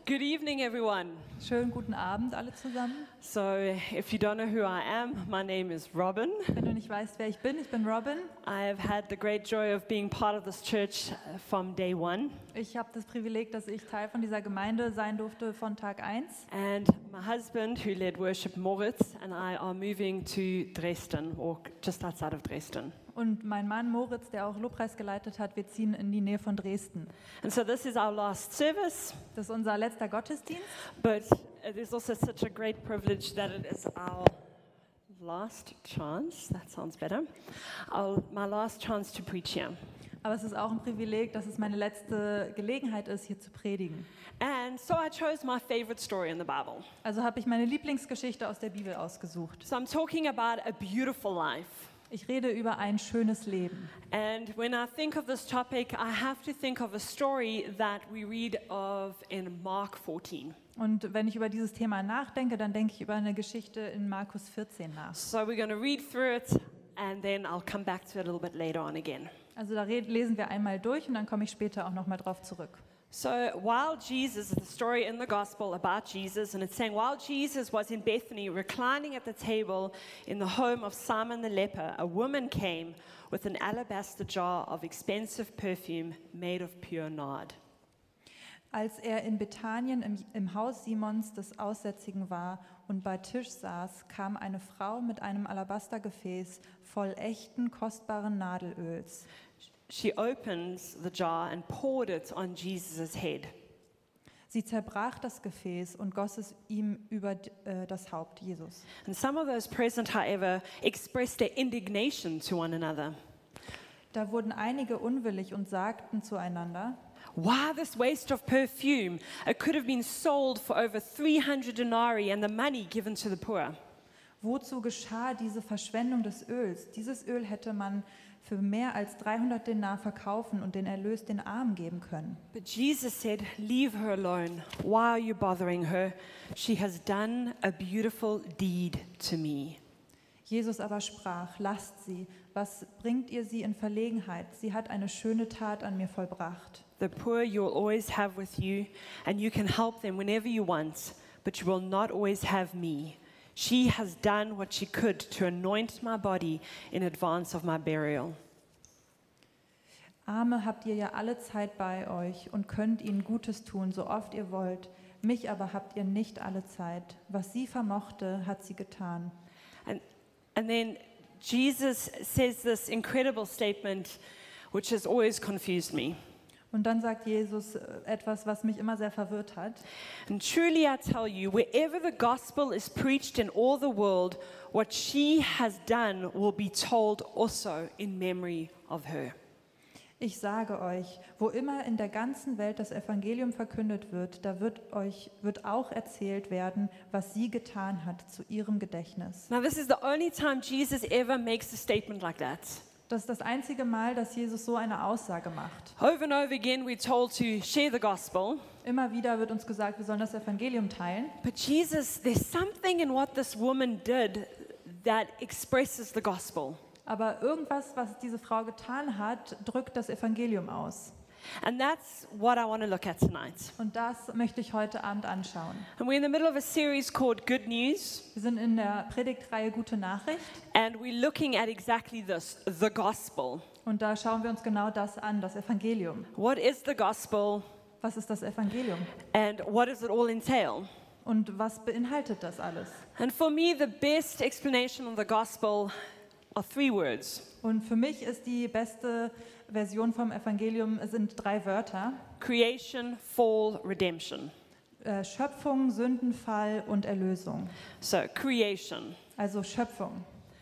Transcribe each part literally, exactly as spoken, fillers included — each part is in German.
Good evening, everyone. Schönen guten Abend alle zusammen. So, if you don't know who I am, my name is Robin. Wenn du nicht weißt, wer ich bin, ich bin Robin. I've had the great joy of being part of this church from day one. Ich habe das Privileg, dass ich Teil von dieser Gemeinde sein durfte von Tag eins. And my husband, who led worship, Moritz, and I are moving to Dresden, or just outside of Dresden. Und mein Mann Moritz, der auch Lobpreis geleitet hat, wir ziehen in die Nähe von Dresden. And so this is our last service, Das ist unser letzter Gottesdienst. but it is also such a great privilege that it is our last chance, that sounds better, our, my last chance to preach here. Aber es ist auch ein Privileg, dass es meine letzte Gelegenheit ist, hier zu predigen. And so I chose my favorite story in the Bible. Also habe ich meine Lieblingsgeschichte aus der Bibel ausgesucht. So I'm talking about a beautiful life. Ich rede über ein schönes Leben. And when I think of this topic, I have to think of a story that we read of in Mark fourteen. Und wenn ich über dieses Thema nachdenke, dann denke ich über eine Geschichte in Markus vierzehn nach. So we're going to read through it, and then I'll come back to it a little bit later on again. Also da red- lesen wir einmal durch und dann komme ich später auch noch mal drauf zurück. So while Jesus, the story in the gospel about Jesus, and it's saying, while Jesus was in Bethany reclining at the table in the home of Simon the leper, a woman came with an alabaster jar of expensive perfume made of pure nard. Als er in Bethanien im, im Haus Simons des Aussätzigen war und bei Tisch saß, kam eine Frau mit einem Alabastergefäß voll echten, kostbaren Nadelöls. She opens the jar and poured it on Jesus' head. Sie zerbrach das Gefäß und goss es ihm über äh, das Haupt Jesus. And some of those present, however, expressed their indignation to one another. Da wurden einige unwillig und sagten zueinander: Why this waste of perfume? It could have been sold for over three hundred denarii and the money given to the poor. Wozu geschah diese Verschwendung des Öls? Dieses Öl hätte man für mehr als dreihundert Denar verkaufen und den Erlös den Armen geben können. But Jesus said, leave her alone. Why are you bothering her? She has done a beautiful deed to me. Jesus aber sprach: Lasst sie, was bringt ihr sie in Verlegenheit? Sie hat eine schöne Tat an mir vollbracht. The poor you will always have with you, and you can help them whenever you want, but you will not always have me. She has done what she could to anoint my body in advance of my burial. Arme habt ihr ja alle Zeit bei euch und könnt ihnen Gutes tun, so oft ihr wollt. Mich aber habt ihr nicht alle Zeit. Was sie vermochte, hat sie getan. And, and then Jesus says this incredible statement, which has always confused me. Und dann sagt Jesus etwas, was mich immer sehr verwirrt hat. And truly I tell you, wherever the gospel is preached in all the world, what she has done will be told also in memory of her. Ich sage euch, wo immer in der ganzen Welt das Evangelium verkündet wird, da wird euch wird auch erzählt werden, was sie getan hat zu ihrem Gedächtnis. Now this is the only time Jesus ever makes a statement like that. Das ist das einzige Mal, dass Jesus so eine Aussage macht. Over and over again we're told to share the gospel. Immer wieder wird uns gesagt, wir sollen das Evangelium teilen. But Jesus, there's something in what this woman did that expresses the gospel. Aber irgendwas, was diese Frau getan hat, drückt das Evangelium aus. And that's what I want to look at tonight. Und das möchte ich heute Abend anschauen. And we're in the middle of a series called Good News. Wir sind in der Predigtreihe Gute Nachricht. And we're looking at exactly this, the gospel. Und da schauen wir uns genau das an, das Evangelium. What is the gospel Was ist das Evangelium? and what does it all entail? Und was beinhaltet das alles? And for me, the best explanation of the gospel are three words. Und für mich ist die beste Version vom Evangelium sind drei Wörter: Creation, fall, redemption. äh, Schöpfung, Sündenfall und Erlösung. So, creation. Also Schöpfung.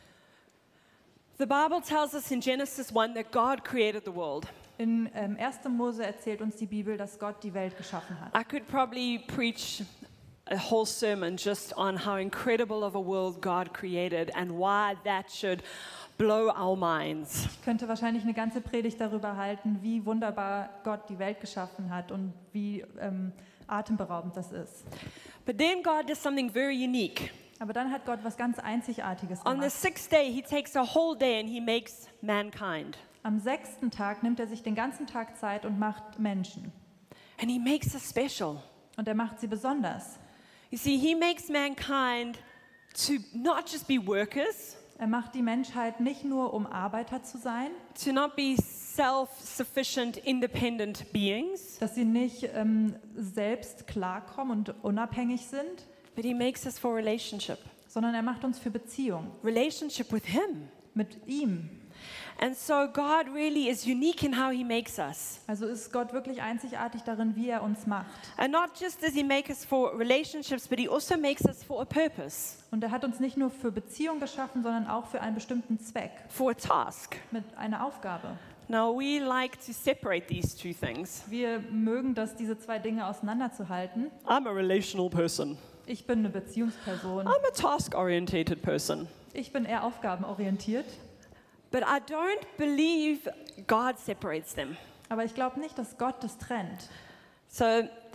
The Bible tells us in Genesis one that God created the world. In ähm, erster Mose erzählt uns die Bibel, dass Gott die Welt geschaffen hat. I could probably preach a whole sermon just on how incredible of a world God created and why that should blow our minds. Ich könnte wahrscheinlich eine ganze Predigt darüber halten, wie wunderbar Gott die Welt geschaffen hat und wie ähm, atemberaubend das ist. But then God does something very unique. Aber dann hat Gott was ganz Einzigartiges On the gemacht. sixth day, he takes a whole day and he makes mankind. Am sechsten Tag nimmt er sich den ganzen Tag Zeit und macht Menschen. And he makes us special. Und er macht sie besonders. You see, he makes mankind to not just be workers, Er macht die Menschheit nicht nur, um Arbeiter zu sein, to not be self-sufficient, independent beings, dass sie nicht ähm, selbst klarkommen und unabhängig sind, but he makes us for relationship. sondern er macht uns für Beziehung Relationship with him. mit ihm. And so God really is unique in how he makes us. Also ist Gott wirklich einzigartig darin, wie er uns macht. And not just does he make us for relationships, but he also makes us for a purpose, Und er hat uns nicht nur für Beziehung geschaffen, sondern auch für einen bestimmten Zweck, for a task. mit einer Aufgabe. Now, we like to separate these two things. Wir mögen das, diese zwei Dinge auseinanderzuhalten. I'm a relational person. Ich bin eine Beziehungsperson. I'm a task-orientated person. Ich bin eher aufgabenorientiert. But I don't believe God separates them. Aber ich glaube nicht, dass Gott das trennt. So,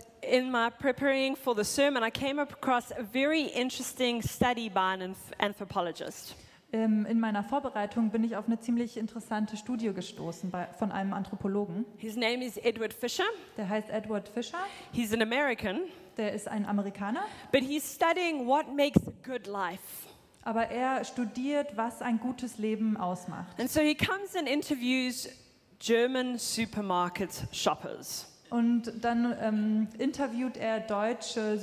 in my preparing for the sermon, I came across a very interesting study by an anth- anthropologist. Ähm, in meiner Vorbereitung bin ich auf eine ziemlich interessante Studie gestoßen bei, von einem Anthropologen. His name is Edward Fisher. Der heißt Edward Fisher. He's an American, Der ist ein Amerikaner. but he's studying what makes a good life. Aber er studiert, was ein gutes Leben ausmacht. And so he comes and interviews German supermarket shoppers. Und dann ähm, interviewt er deutsche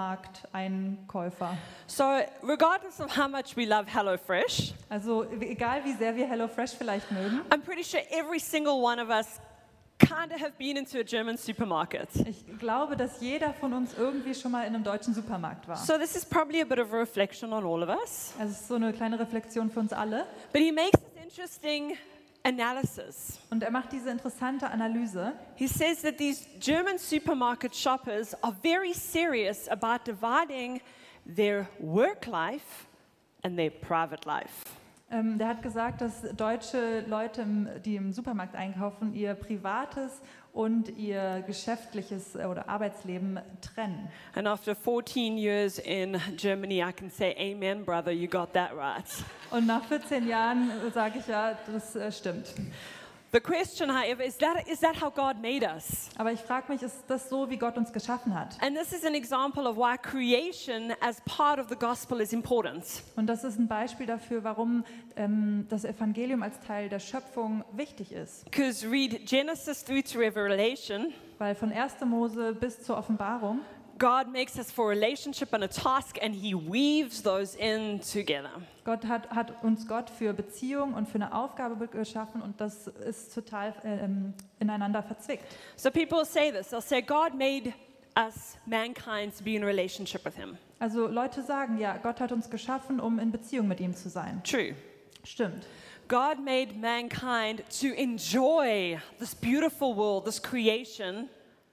Supermarkteinkäufer. So, regardless of how much we love HelloFresh, Also egal wie sehr wir HelloFresh vielleicht mögen, I'm pretty sure every single one of us kind of have been into a German supermarket. ich glaube, dass jeder von uns irgendwie schon mal in einem deutschen Supermarkt war. So this is probably a bit of a reflection on all of us. Also es ist so eine kleine Reflexion für uns alle. But he makes this interesting analysis. Und er macht diese interessante Analyse. He says that these German supermarket shoppers are very serious about dividing their work life and their private life. Ähm, der hat gesagt, dass deutsche Leute, im- die im Supermarkt einkaufen, ihr privates und ihr geschäftliches äh, oder Arbeitsleben trennen. And after fourteen years in Germany, I can say, amen, brother, you got that right. Und nach vierzehn Jahren sage ich ja, das äh, stimmt. The question, however, is that, is that how God made us? Aber ich frage mich, ist das so, wie Gott uns geschaffen hat? And this is an example of why creation as part of the gospel is important. Und das ist ein Beispiel dafür, warum ähm, das Evangelium als Teil der Schöpfung wichtig ist. Because read Genesis through to Revelation, Weil von erster Mose bis zur Offenbarung God makes us for a relationship and a task, and he weaves those in together. Gott hat, hat uns Gott für Beziehung und für eine Aufgabe geschaffen und das ist total ähm, ineinander verzwickt. So people say this, they'll say God made us, mankind, to be in a relationship with him. Also Leute sagen, ja, Gott hat uns geschaffen, um in Beziehung mit ihm zu sein. True. Stimmt. God made mankind to enjoy this beautiful world, this creation,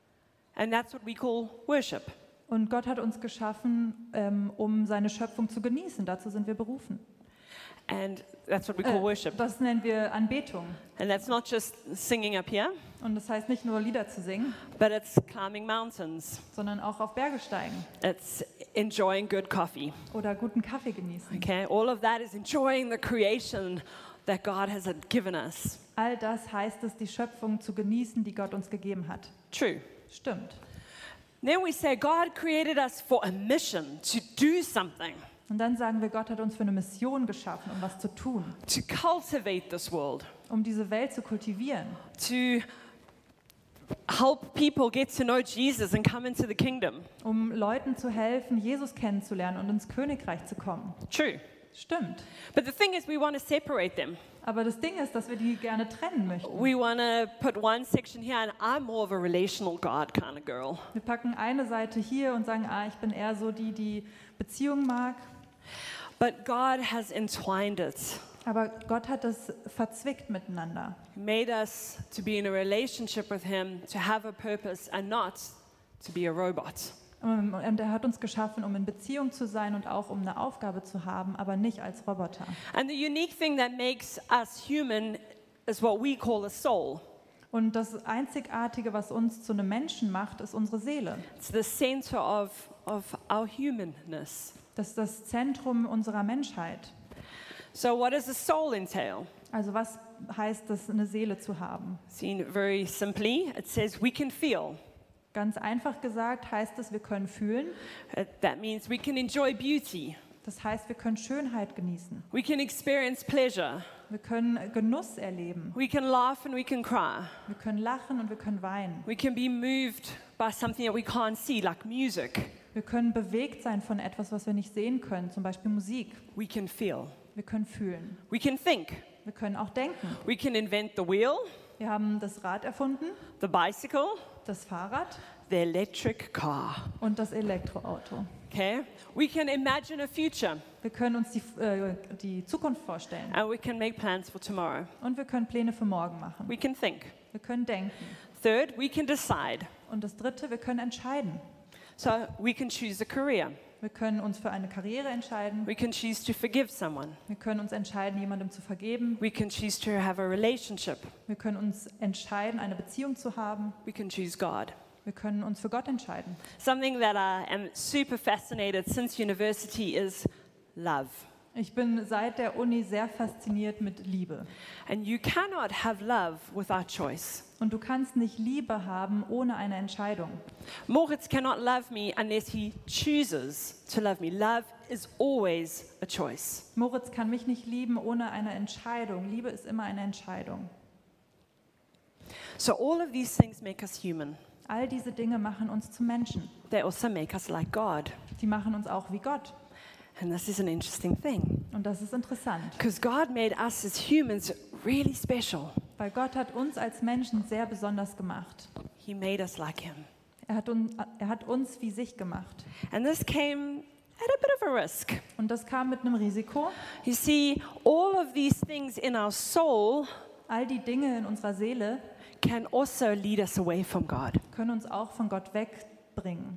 and that's what we call worship. Und Gott hat uns geschaffen, ähm, um seine Schöpfung zu genießen. Dazu sind wir berufen. And that's what we call Äh, worship. das nennen wir Anbetung. And that's not just singing up here, Und das heißt nicht nur Lieder zu singen, but it's climbing mountains. sondern auch auf Berge steigen It's enjoying good coffee. oder guten Kaffee genießen. Okay, all of that is enjoying the creation that God has given us. All das heißt es, die Schöpfung zu genießen, die Gott uns gegeben hat. True. Stimmt. Then we say God created us for a mission, to do something, Und dann sagen wir, Gott hat uns für eine Mission geschaffen, um was zu tun, to cultivate this world, um diese Welt zu kultivieren, to help people get to know Jesus and come into the kingdom. um Leuten zu helfen, Jesus kennenzulernen und ins Königreich zu kommen. True. Stimmt. But the thing is, we want to separate them. Aber das Ding ist, dass wir die gerne trennen möchten. We want to put one section here, and I'm more of a relational God kind of girl. Wir packen eine Seite hier und sagen, ah, ich bin eher so die, die Beziehung mag. But God has entwined it. Aber Gott hat das verzwickt miteinander. He made us to be in a relationship with Him, to have a purpose, and not to be a robot. Ähm, Und er hat uns geschaffen, um in Beziehung zu sein und auch um eine Aufgabe zu haben, aber nicht als Roboter. And the unique thing that makes us human is what we call a soul. Und das Einzigartige, was uns zu einem Menschen macht, ist unsere Seele. It's the center of, of our humanness. Das ist das Zentrum unserer Menschheit. So what does a soul entail? Also was heißt es, eine Seele zu haben? Seen very simply, it says we can feel. Ganz einfach gesagt heißt es, wir können fühlen. Uh, That means we can enjoy beauty. Das heißt, wir können Schönheit genießen. We can experience pleasure. Wir können Genuss erleben. We can laugh and we can cry. Wir können lachen und wir können weinen. We can be moved by something that we can't see, like music. Wir können bewegt sein von etwas, was wir nicht sehen können, zum Beispiel Musik. We can feel. Wir können fühlen. We can think. Wir können auch denken. We can invent the wheel, Wir haben das Rad erfunden, the bicycle, das Fahrrad the electric car. und das Elektroauto. Okay? We can imagine a future Wir können uns die, äh, die Zukunft vorstellen and we can make plans for tomorrow. und wir können Pläne für morgen machen. We can think. Wir können denken. Third, we can decide. Und das Dritte, wir können entscheiden. So we can choose a career. Wir können uns für eine Karriere entscheiden. We can choose to forgive someone. Wir können uns entscheiden, jemandem zu vergeben. We can choose to have a relationship. Wir können uns entscheiden, eine Beziehung zu haben. We can choose God. Wir können uns für Gott entscheiden. Something that I am super fascinated since university is love. Ich bin seit der Uni sehr fasziniert mit Liebe. And you cannot have love without choice. Und du kannst nicht Liebe haben ohne eine Entscheidung. Moritz cannot love me unless he chooses to love me. Love is always a choice. Moritz kann mich nicht lieben ohne eine Entscheidung. Liebe ist immer eine Entscheidung. So all of these things make us human. All diese Dinge machen uns zu Menschen. They also make us like God. Die machen uns auch wie Gott. And this is an interesting thing. Und das ist interessant, Because God made us as humans really special. weil Gott hat uns als Menschen sehr besonders gemacht. He made us like him. Er hat, uns, er hat uns wie sich gemacht. And this came at a bit of a risk. Und das kam mit einem Risiko. You see, all of these things in our soul All die Dinge in unserer Seele can also lead us away from God. können uns auch von Gott wegbringen.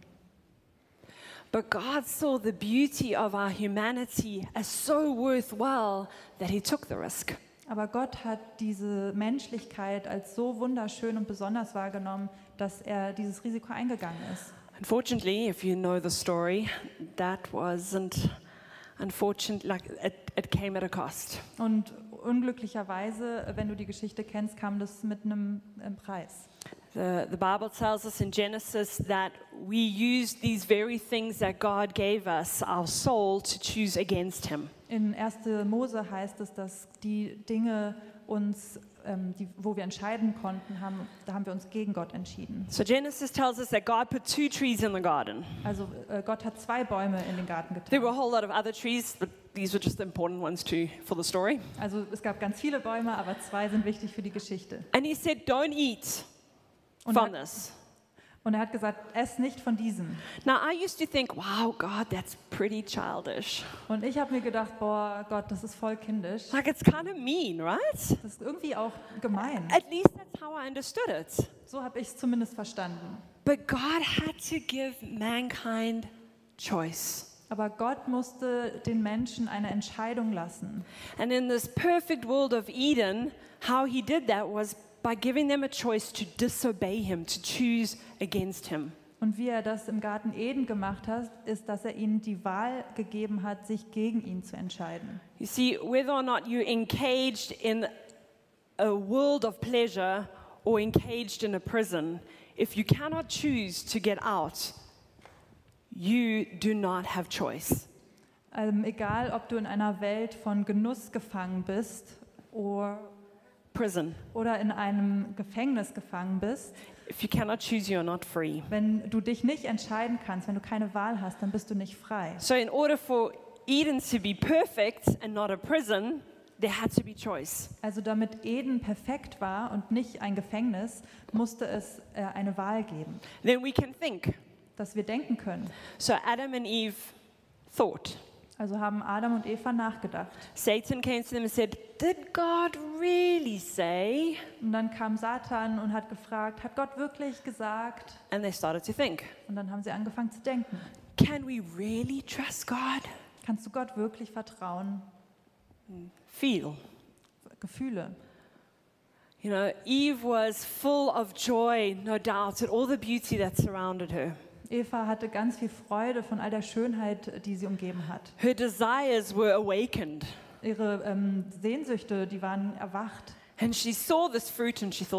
But God saw the beauty of our humanity as so worthwhile that he took the risk. Aber Gott hat diese Menschlichkeit als so wunderschön und besonders wahrgenommen, dass er dieses Risiko eingegangen ist. Unfortunately, if you know the story, that wasn't unfortunate, like it, it came at a cost. Und unglücklicherweise, wenn du die Geschichte kennst, kam das mit einem äh, Preis. The, the Bible tells us in Genesis that we use these very things that God gave us, our soul, to choose against him. In erster Mose heißt es, dass die Dinge uns, ähm, die, wo wir entscheiden konnten, haben, da haben wir uns gegen Gott entschieden. So Genesis tells us that God put two trees in the garden. Also äh, Gott hat zwei Bäume in den Garten There were a getan. whole lot of other trees, but these were just the important ones too for the story. Also es gab ganz viele Bäume, aber zwei sind wichtig für die Geschichte. And he said, don't eat Und from er, this. und er hat gesagt, ess nicht von diesem. Now, I used to think, wow, God, that's pretty childish. Und ich habe mir gedacht, boah, Gott, das ist voll kindisch. Like, it's kind of mean, right? Das ist irgendwie auch gemein. At least that's how I understood it. So habe ich es zumindest verstanden. But God had to give mankind choice. Aber Gott musste den Menschen eine Entscheidung lassen. And in this perfect world of Eden, how he did that was by giving them a choice to disobey him, to choose against him. Und wie er das im Garten Eden gemacht hat, ist, dass er ihnen die Wahl gegeben hat, sich gegen ihn zu entscheiden. You see, whether or not you're engaged in a world of pleasure or engaged in a prison, if you cannot choose to get out, you do not have choice. Ähm, egal, ob du in einer Welt von Genuss gefangen bist oder, Prison. oder in einem Gefängnis gefangen bist, If you cannot choose, you're not free. wenn du dich nicht entscheiden kannst, wenn du keine Wahl hast, dann bist du nicht frei. So in order for Eden to be perfect and not a prison, there had to be choice. Also damit Eden perfekt war und nicht ein Gefängnis, musste es äh, eine Wahl geben, Then we can think. dass wir denken können. So Adam and Eve thought. Also haben Adam und Eva nachgedacht. Satan came to them and said, did God really say? Und dann kam Satan und hat gefragt, hat Gott wirklich gesagt? And they started to think, Und dann haben sie angefangen zu denken. can we really trust God? Kannst du Gott wirklich vertrauen? Feel. Gefühle. You know, Eve was full of joy, no doubt, at all the beauty that surrounded her. Eva hatte ganz viel Freude von all der Schönheit, die sie umgeben hat. Her desires were awakened. Ihre ähm, Sehnsüchte, die waren erwacht. And she saw this fruit and she thought,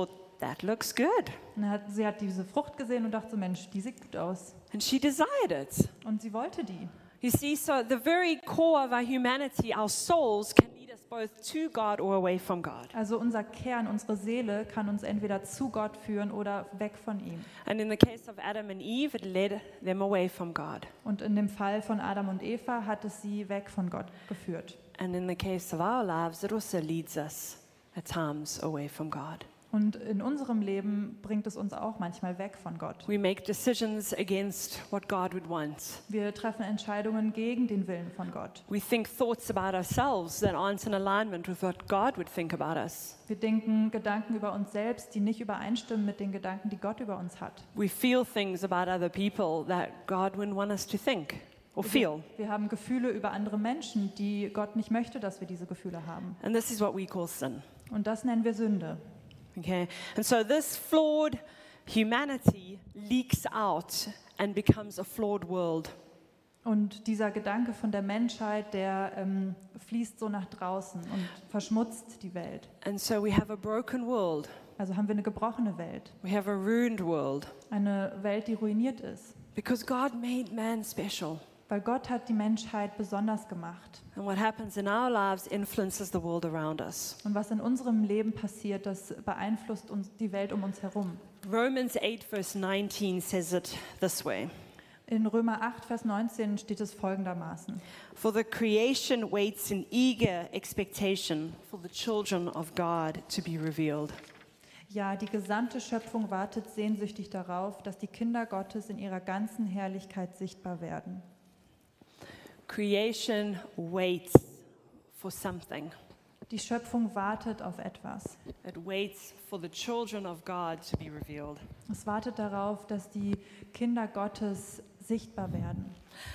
that looks good. Und dann hat, sie hat diese Frucht gesehen und dachte so, Mensch, die sieht gut aus. And she desired it. Und sie wollte die. You see, so the very core of our humanity, our souls, can lead us both to God or away from God. Also unser Kern, unsere Seele kann uns entweder zu Gott führen oder weg von ihm. And in the case of Adam and Eve, it led them away from God. Und in dem Fall von Adam und Eva hat es sie weg von Gott geführt. And in the case of our lives, it also leads us at times away from God. Und in unserem Leben bringt es uns auch manchmal weg von Gott. We make decisions against what God would want. Wir treffen Entscheidungen gegen den Willen von Gott. We think thoughts about ourselves that aren't in alignment with what God would think about us. Wir denken Gedanken über uns selbst, die nicht übereinstimmen mit den Gedanken, die Gott über uns hat. We feel things about other people that God wouldn't want us to think or feel. Wir haben Gefühle über andere Menschen, die Gott nicht möchte, dass wir diese Gefühle haben. And this is what we call sin. Und das nennen wir Sünde. Okay? And so this flawed humanity leaks out and becomes a flawed world. Und dieser Gedanke von der Menschheit, der ähm, fließt so nach draußen und verschmutzt die Welt. And so we have a broken world. Also haben wir eine gebrochene Welt, We have a ruined world eine Welt, die ruiniert ist. because God made man special. Weil Gott hat die Menschheit besonders gemacht. And what happens in our lives influences the world around us. Und was in unserem Leben passiert, das beeinflusst uns die Welt um uns herum. Romans eight verse nineteen says it this way. In Römer acht, Vers neunzehn steht es folgendermaßen. For the creation waits in eager expectation for the children of God to be revealed. Ja, die gesamte Schöpfung wartet sehnsüchtig darauf, dass die Kinder Gottes in ihrer ganzen Herrlichkeit sichtbar werden. Creation waits for something. Die Schöpfung wartet auf etwas. It waits for the children of God to be revealed. Es wartet darauf, dass die Kinder Gottes sichtbar werden.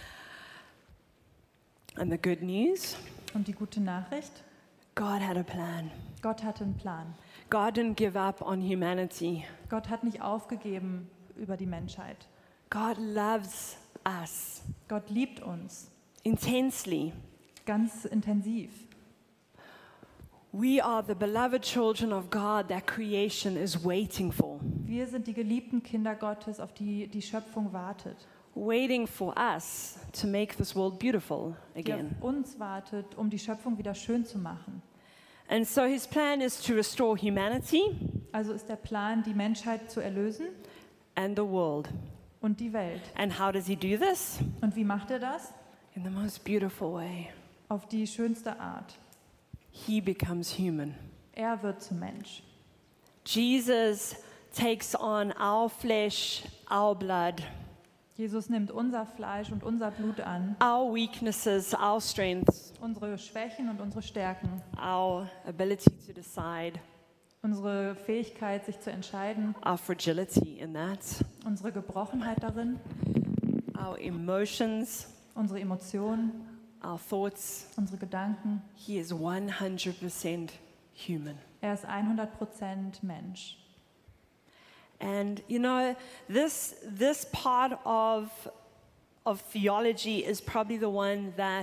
And the good news, Und die gute Nachricht, God had a plan. Gott hatte einen Plan. God didn't give up on humanity. Gott hat nicht aufgegeben über die Menschheit. God loves us Gott liebt uns intensely. ganz intensiv. We are the beloved children of God that creation is waiting for, Wir sind die geliebten Kinder Gottes, auf die die Schöpfung wartet. waiting for us to make this world beautiful Die again. auf uns wartet, um die Schöpfung wieder schön zu machen. And so his plan is to restore humanity Also ist der Plan, die Menschheit zu erlösen and the world. und die Welt. And how does he do this? Und wie macht er das? In the most beautiful way. Auf die schönste Art. He becomes human. Er wird zum Mensch. Jesus takes on our flesh, our blood, Jesus nimmt unser Fleisch und unser Blut an, our weaknesses, our strengths, unsere Schwächen und unsere Stärken, our ability to decide, unsere Fähigkeit, sich zu entscheiden, our fragility in that, unsere Gebrochenheit darin, our emotions, unsere Emotionen, our thoughts. unsere Gedanken. He is one hundred percent human. Er ist hundert Prozent Mensch. And you know, this this part of of theology is probably the one that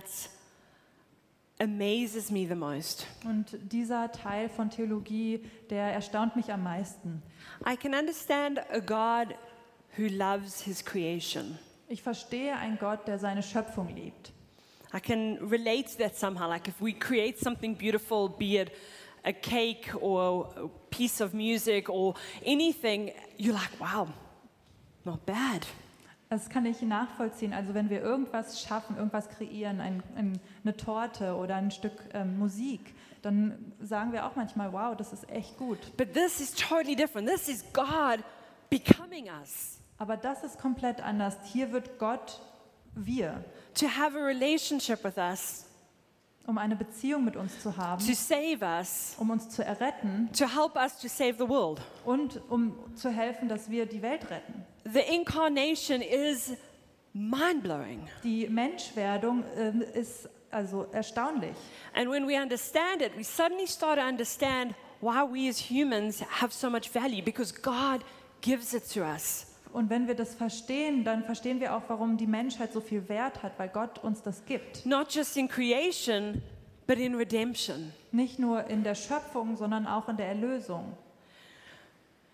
amazes me the most. Und dieser Teil von Theologie, der erstaunt mich am meisten. I can understand a God who loves his creation. Ich verstehe einen Gott, der seine Schöpfung liebt. I can relate to that somehow. Like if we create something beautiful, be it a cake or a piece of music or anything, you're like, wow, not bad. Das kann ich nachvollziehen. Also wenn wir irgendwas schaffen, irgendwas kreieren, ein, ein, eine Torte oder ein Stück ähm, Musik, dann sagen wir auch manchmal, wow, das ist echt gut. But this is totally different. This is God becoming us. Aber das ist komplett anders. Hier wird Gott wir, To have a relationship with us, um eine Beziehung mit uns zu haben, to save us, um uns zu erretten to help us to save the world. und um zu helfen, dass wir die Welt retten. The incarnation is mind-blowing. Die Menschwerdung ähm, ist also erstaunlich. And when we understand it, we suddenly start to understand why we as humans have so much value, because God gives it to us. Und wenn wir das verstehen, dann verstehen wir auch, warum die Menschheit so viel Wert hat, weil Gott uns das gibt. Not just in creation, but in redemption. Nicht nur in der Schöpfung, sondern auch in der Erlösung.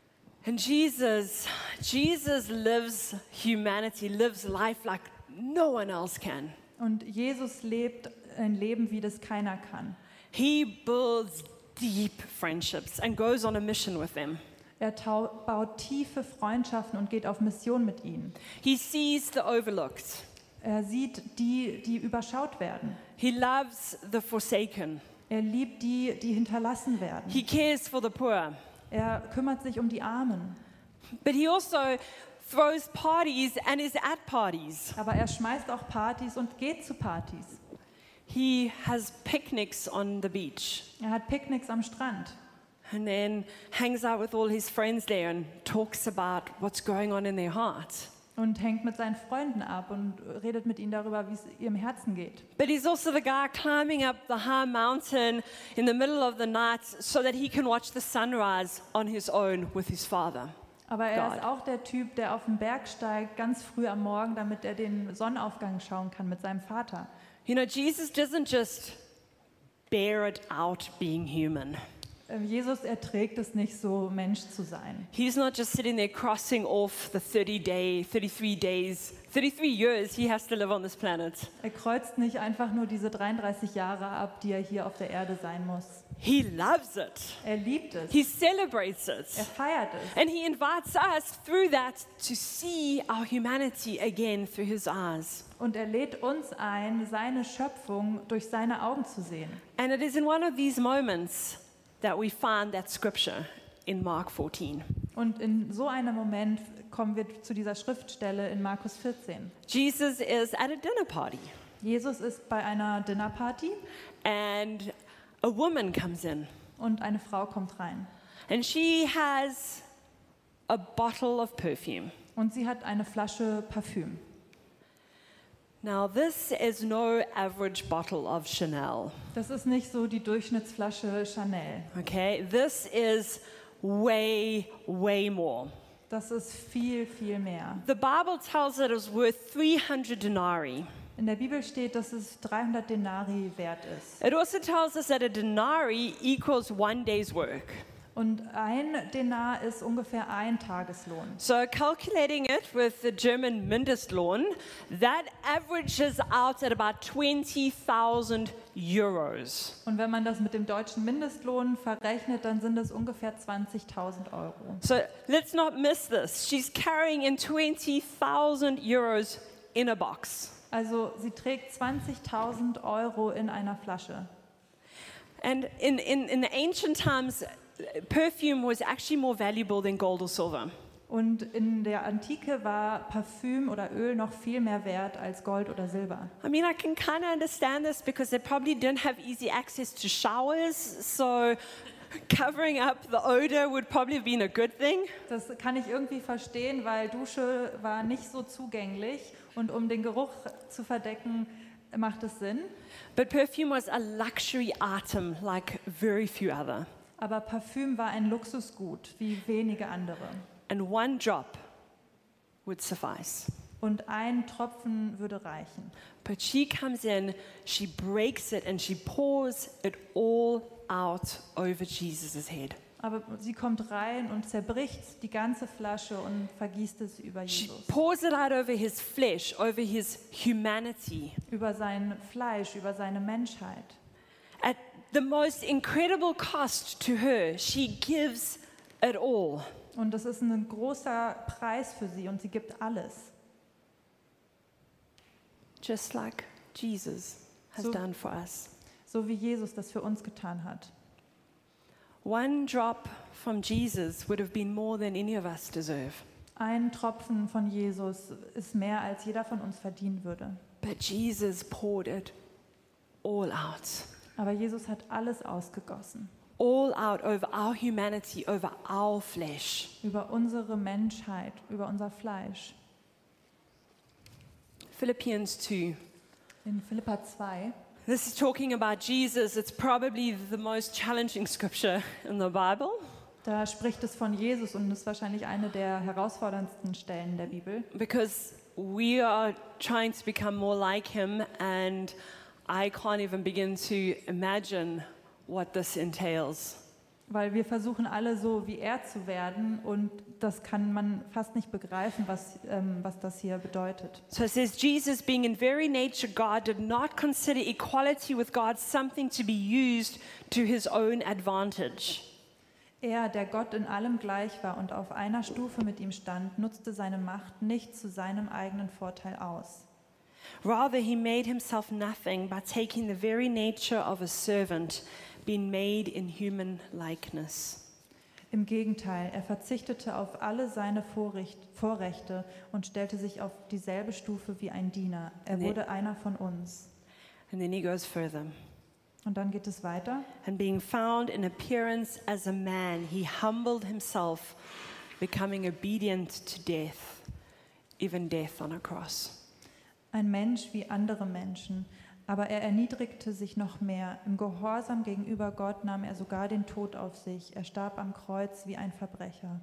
And Jesus, Jesus lives humanity, lives life like no one else can. Und Jesus lebt ein Leben, wie das keiner kann. He builds deep friendships and goes on a mission with them. Er tau- baut tiefe Freundschaften und geht auf Mission mit ihnen. He sees the overlooked. Er sieht die, die überschaut werden. He loves the forsaken. Er liebt die, die hinterlassen werden. He cares for the poor. Er kümmert sich um die Armen. But he also throws parties and is at parties. Aber er schmeißt auch Partys und geht zu Partys. He has picnics on the beach Er hat Picknicks am Strand and then hangs out with all his friends there and talks about what's going on in their heart. und hängt mit seinen Freunden ab und redet mit ihnen darüber, wie es ihrem Herzen geht. But he's also the guy climbing up the high mountain in the middle of the night so that he can watch the sunrise on his own with his father. Aber er God. ist auch der Typ, der auf den Berg steigt, ganz früh am Morgen, damit er den Sonnenaufgang schauen kann mit seinem Vater. You know, Jesus doesn't just bear it out being human. Ähm, Jesus erträgt es nicht so, Mensch zu sein. He's not just sitting there crossing off the thirty day, thirty-three days, thirty-three years he has to live on this planet. Er kreuzt nicht einfach nur diese dreiunddreißig Jahre ab, die er hier auf der Erde sein muss. He loves it. Er liebt es. He celebrates Er it. feiert es. And he invites us through that to see our humanity again through his eyes. Und er lädt uns ein, seine Schöpfung durch seine Augen zu sehen. And it is in one of these moments that we find that scripture in Mark fourteen. Und in so einem Moment kommen wir zu dieser Schriftstelle in Markus vierzehn. Jesus is at a dinner party Jesus ist bei einer Dinnerparty and a woman comes in und eine Frau kommt rein. and she has a bottle of perfume. Und sie hat eine Flasche Parfüm. Now, this is no average bottle of Chanel, Das ist nicht so die Durchschnittsflasche Chanel. okay? This is way, way more. Das ist viel, viel mehr. The Bible tells it is worth three hundred denarii. In der Bibel steht, dass es dreihundert Denari wert ist. It also tells us that a denarii equals one day's work. Und ein Denar ist ungefähr ein Tageslohn. So calculating it with the German Mindestlohn, that averages out at about twenty thousand euros. Und wenn man das mit dem deutschen Mindestlohn verrechnet, dann sind es ungefähr zwanzigtausend Euro. So let's not miss this. She's carrying in twenty thousand euros in a box. Also sie trägt zwanzigtausend Euro in einer Flasche. And in, in, in the ancient times, perfume was actually more valuable than gold or silver. Und in der Antike war Parfüm oder Öl noch viel mehr wert als Gold oder Silber. I mean, I can kind of understand this because they probably didn't have easy access to showers, so covering up the odor would probably have been a good thing. Das kann ich irgendwie verstehen, weil Dusche war nicht so zugänglich und um den Geruch zu verdecken, macht es Sinn. But perfume was a luxury item like very few other. Aber Parfüm war ein Luxusgut, wie wenige andere. And one drop would suffice. Und ein Tropfen würde reichen. But she comes in, she breaks it, and she pours it all out over Jesus' head. Aber sie kommt rein und zerbricht die ganze Flasche und vergießt es über She Jesus. pours it out over his flesh, over his humanity. Über sein Fleisch, über seine Menschheit. At the most incredible cost to her, she gives it all. Und das ist ein großer Preis für sie und sie gibt alles. Just like Jesus has So- done for us. So wie Jesus das für uns getan hat. One drop from Jesus would have been more than any of us deserve. Ein Tropfen von Jesus ist mehr, als jeder von uns verdienen würde. But Jesus poured it all out. Aber Jesus hat alles ausgegossen. All out over our humanity, over our flesh. Über unsere Menschheit, über unser Fleisch. Philippians two. In Philipper zwei. This is talking about Jesus. It's probably the most challenging scripture in the Bible. Da spricht es von Jesus und ist wahrscheinlich eine der herausforderndsten Stellen der Bibel. Because we are trying to become more like him, and I can't even begin to imagine what this entails. Weil wir versuchen alle so wie er zu werden und das kann man fast nicht begreifen, was, ähm, was das hier bedeutet. So it says, Jesus, being in very nature God, did not consider equality with God something to be used to his own advantage. Er, der Gott in allem gleich war und auf einer Stufe mit ihm stand, nutzte seine Macht nicht zu seinem eigenen Vorteil aus. Rather, he made himself nothing by taking the very nature of a servant, being made in human likeness. Im Gegenteil, er verzichtete auf alle seine Vorrecht, Vorrechte und stellte sich auf dieselbe Stufe wie ein Diener. Er Nee. wurde einer von uns. And then he goes further. Und dann geht es weiter. And being found in appearance as a man, he humbled himself, becoming obedient to death, even death on a cross. Ein Mensch wie andere Menschen, aber er erniedrigte sich noch mehr. Im Gehorsam gegenüber Gott nahm er sogar den Tod auf sich. Er starb am Kreuz wie ein Verbrecher.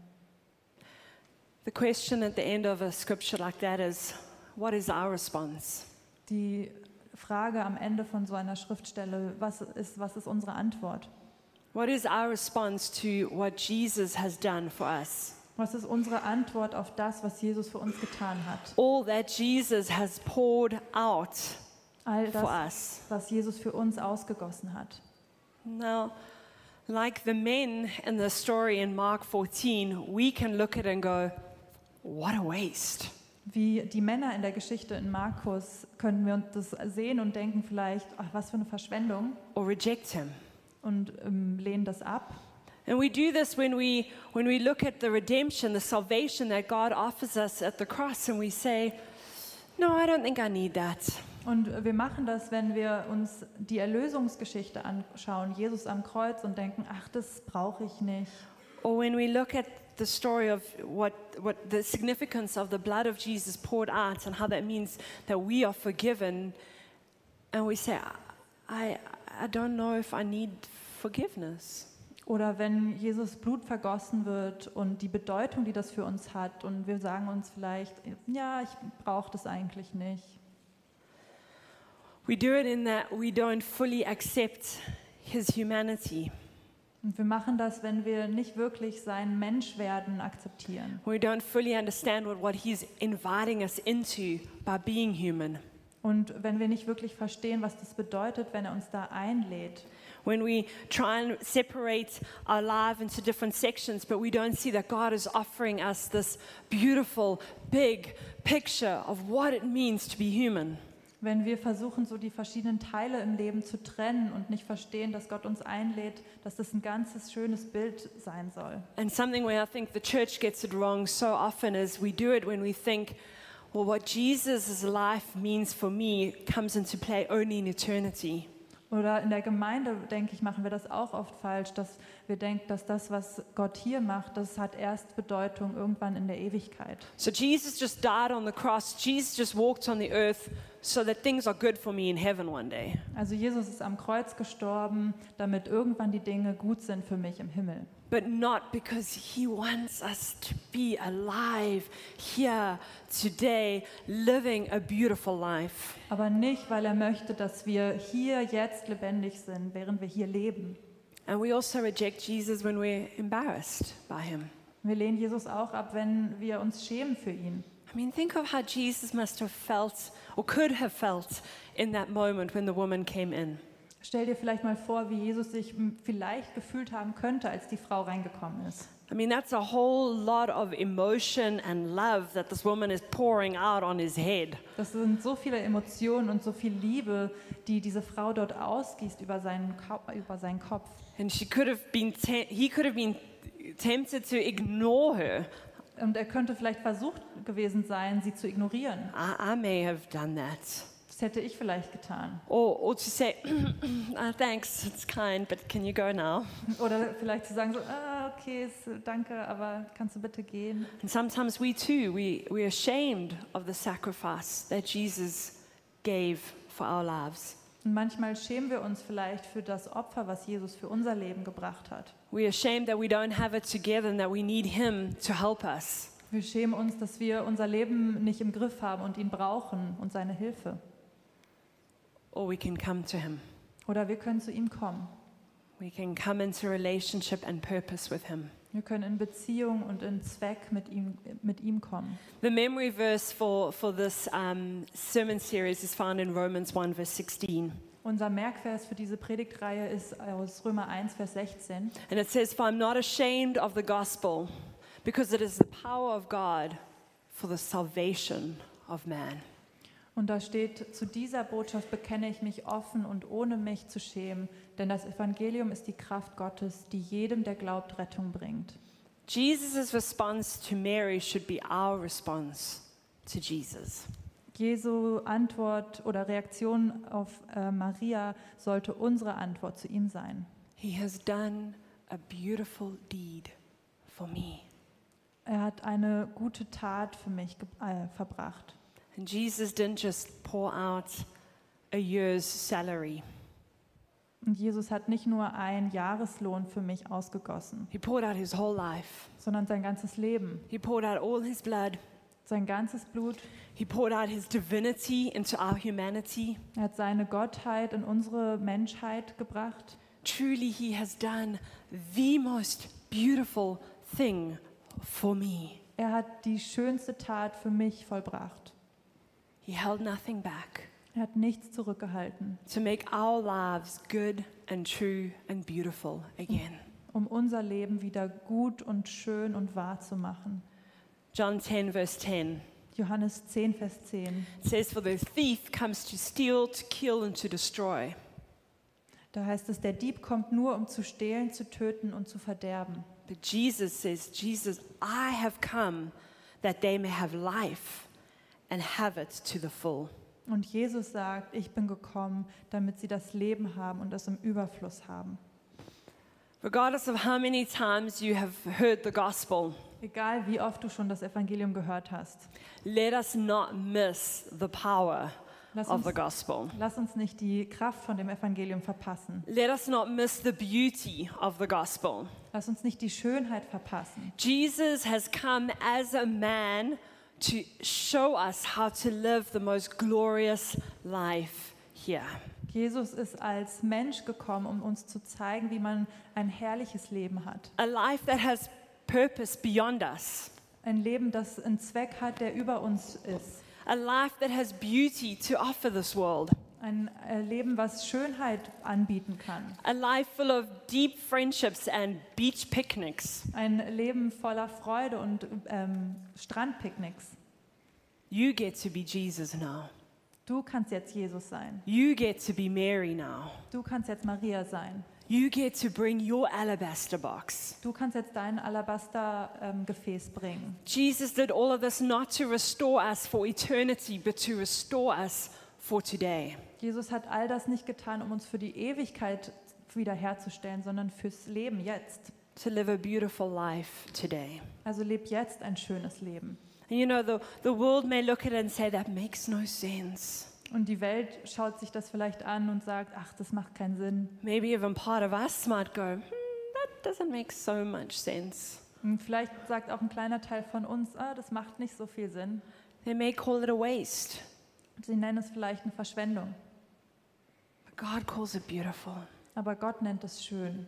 The question at the end of a scripture like that is, what is our response? Die Frage am Ende von so einer Schriftstelle, was ist, was ist unsere Antwort? What is our response to what Jesus has done for us? Was ist unsere Antwort auf das, was Jesus für uns getan hat? All that Jesus has poured out All for das, us. was Jesus für uns ausgegossen hat. Now, like the men in the story in Mark fourteen, we can look at it and go, what a waste. Wie die Männer in der Geschichte in Markus können wir uns das sehen und denken vielleicht, ach, was für eine Verschwendung, Or reject him. und ähm, lehnen das ab. And we do this when we when we look at the redemption, the salvation that God offers us at the cross, and we say, no, I don't think I need that. Und wir machen das, wenn wir uns die Erlösungsgeschichte anschauen, Jesus am Kreuz, und denken, ach, das brauche ich nicht. Or when we look at the story of what, what the significance of the blood of Jesus poured out and how that means that we are forgiven, and we say, I, I don't know if I need forgiveness. Oder wenn Jesus Blut vergossen wird und die Bedeutung, die das für uns hat, und wir sagen uns vielleicht, ja, ich brauche das eigentlich nicht. We do it in that we don't fully accept his humanity. Und wir machen das, wenn wir nicht wirklich sein Menschwerden akzeptieren. We don't fully understand what, what he's inviting us into by being human. Und wenn wir nicht wirklich verstehen, was das bedeutet, wenn er uns da einlädt. When we try and separate our life into different sections, but we don't see that God is offering us this beautiful, big picture of what it means to be human. Wenn wir versuchen, so die verschiedenen Teile im Leben zu trennen und nicht verstehen, dass Gott uns einlädt, dass das ein ganzes schönes Bild sein soll. And something where I think the church gets it wrong so often is we do it when we think, well, what Jesus' life means for me comes into play only in eternity. Oder in der Gemeinde, denke ich, machen wir das auch oft falsch, dass wir denken, dass das, was Gott hier macht, das hat erst Bedeutung irgendwann in der Ewigkeit. So Jesus just died on the cross. Jesus just walked on the earth so that things are good for me in heaven one day. Also Jesus ist am Kreuz gestorben, damit irgendwann die Dinge gut sind für mich im Himmel. But not because he wants us to be alive here today, living a beautiful life. Aber nicht, weil er möchte, dass wir hier jetzt lebendig sind, während wir hier leben. And we also reject Jesus when we're embarrassed by him. Wir lehnen Jesus auch ab, wenn wir uns schämen für ihn. I mean, think of how Jesus must have felt or could have felt in that moment when the woman came in. Stell dir vielleicht mal vor, wie Jesus sich m- vielleicht gefühlt haben könnte, als die Frau reingekommen ist. I mean, that's a whole lot of emotion and love that this woman is pouring out on his head. Das sind so viele Emotionen und so viel Liebe, die diese Frau dort ausgießt über seinen, Ko- über seinen Kopf. And she could have been te- he could have been tempted to ignore her. Und er könnte vielleicht versucht gewesen sein, sie zu ignorieren. I, I may have done that. Das hätte ich vielleicht getan. Or, or to say, "Ah, thanks, it's kind, but can you go now? Oder vielleicht zu sagen so, ah, okay, ist- danke, aber kannst du bitte gehen? And sometimes we too, we, we're ashamed of the sacrifice that Jesus gave for our lives. Und manchmal schämen wir uns vielleicht für das Opfer, was Jesus für unser Leben gebracht hat. We're ashamed that we don't have it together and that we need him to help us. Wir schämen uns, dass wir unser Leben nicht im Griff haben und ihn brauchen und seine Hilfe. Or we can come to him. Oder wir können zu ihm kommen. We can come into relationship and purpose with him. Wir können in Beziehung und in Zweck mit ihm, mit ihm kommen. The memory verse for, for this um, sermon series is found in Romans one, verse sixteen. Unser Merkvers für diese Predigtreihe ist aus Römer eins, Vers sechzehn. And it says, "For I'm not ashamed of the gospel, because it is the power of God for the salvation of man." Und da steht, zu dieser Botschaft bekenne ich mich offen und ohne mich zu schämen, denn das Evangelium ist die Kraft Gottes, die jedem, der glaubt, Rettung bringt. Jesus' response to Mary should be our response to Jesus. Jesu Antwort oder Reaktion auf äh, Maria sollte unsere Antwort zu ihm sein. He has done a beautiful deed for me. Er hat eine gute Tat für mich ge- äh, verbracht. And Jesus didn't just pour out a year's salary. Und Jesus hat nicht nur einen Jahreslohn für mich ausgegossen, He poured out his whole life. sondern sein ganzes Leben, He poured out all his blood. sein ganzes Blut. He poured out his divinity into our humanity. Er hat seine Gottheit in unsere Menschheit gebracht. Truly, he has done the most beautiful thing for me. Er hat die schönste Tat für mich vollbracht. He held nothing back Er hat nichts zurückgehalten, to make our lives good and true and beautiful again. um unser Leben wieder gut und schön und wahr zu machen. John ten, verse ten. Johannes zehn, Vers zehn. It says, "For the thief comes to steal, to kill, and to destroy. Da heißt es, der Dieb kommt nur, um zu stehlen, zu töten und zu verderben. But Jesus says, Jesus, I have come that they may have life and have it to the full." Und Jesus sagt, ich bin gekommen, damit sie das Leben haben und es im Überfluss haben. Regardless of how many times you have heard the gospel, Egal wie oft du schon das Evangelium gehört hast, let us not miss the power lass of uns, the gospel. lass uns nicht die Kraft von dem Evangelium verpassen. Let us not miss the beauty of the gospel. Lass uns nicht die Schönheit verpassen. Jesus has come as a man to show us how to live the most glorious life here. Jesus ist als Mensch gekommen, um uns zu zeigen, wie man ein herrliches Leben hat. A life that has purpose beyond us. Ein Leben, das einen Zweck hat, der über uns ist. A life that has beauty to offer this world. Ein äh, Leben, was Schönheit anbieten kann. A life full of deep friendships and beach picnics. Ein Leben voller Freude und ähm, Strandpicknicks. You get to be Jesus now. Du kannst jetzt Jesus sein. You get to be Mary now. Du kannst jetzt Maria sein. You get to bring your alabaster box. Du kannst jetzt dein Alabaster-Gefäß bringen. Jesus did all of this not to restore us for eternity, but to restore us for today. Jesus hat all das nicht getan, um uns für die Ewigkeit wiederherzustellen, sondern fürs Leben jetzt. To live a beautiful life today. Also leb jetzt ein schönes Leben. And you know, the, the world may look at it and say, that makes no sense. Und die Welt schaut sich das vielleicht an und sagt, ach, das macht keinen Sinn. Maybe even part of us might go, hmm, that doesn't make so much sense. Und vielleicht sagt auch ein kleiner Teil von uns, ah, das macht nicht so viel Sinn. They may call it a waste, Sie nennen es vielleicht eine Verschwendung. but God calls it beautiful. Aber Gott nennt es schön.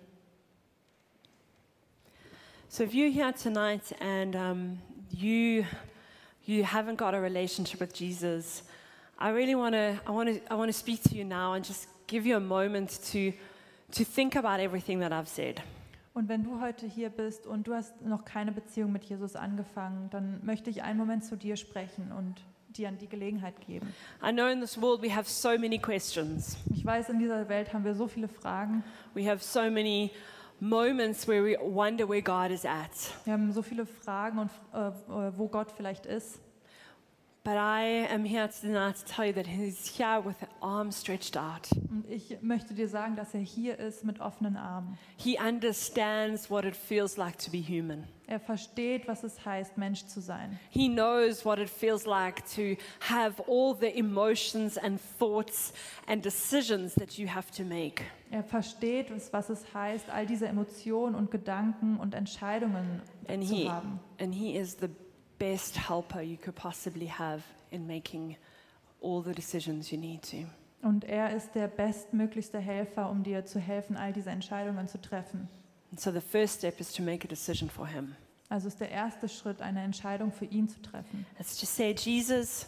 So if you're here tonight and um, you you haven't got a relationship with Jesus, I really want to I want to I want to speak to you now and just give you a moment to to think about everything that I've said. Und wenn du heute hier bist und du hast noch keine Beziehung mit Jesus angefangen, dann möchte ich einen Moment zu dir sprechen und dir die Gelegenheit geben. I know in this world we have so many questions. Ich weiß, in dieser Welt haben wir so viele Fragen. We have so many moments where we wonder where God is at. Wir haben so viele Fragen, und, äh, wo Gott vielleicht ist. But I am here tonight to tell you that He's here with an arm stretched out. Und ich möchte dir sagen, dass er hier ist mit offenen Armen. He understands what it feels like to be human. Er versteht, was es heißt, Mensch zu sein. He knows what it feels like to have all the emotions and thoughts and decisions that you have to make. Er versteht, was es heißt, all diese Emotionen und Gedanken und Entscheidungen And zu he, haben. and he is the best helper you could possibly have in making all the decisions you need to. Und er ist der bestmöglichste Helfer, um dir zu helfen, all diese Entscheidungen zu treffen. And so the first step is to make a decision for him. Also ist der erste Schritt, eine Entscheidung für ihn zu treffen. It's to say, Jesus,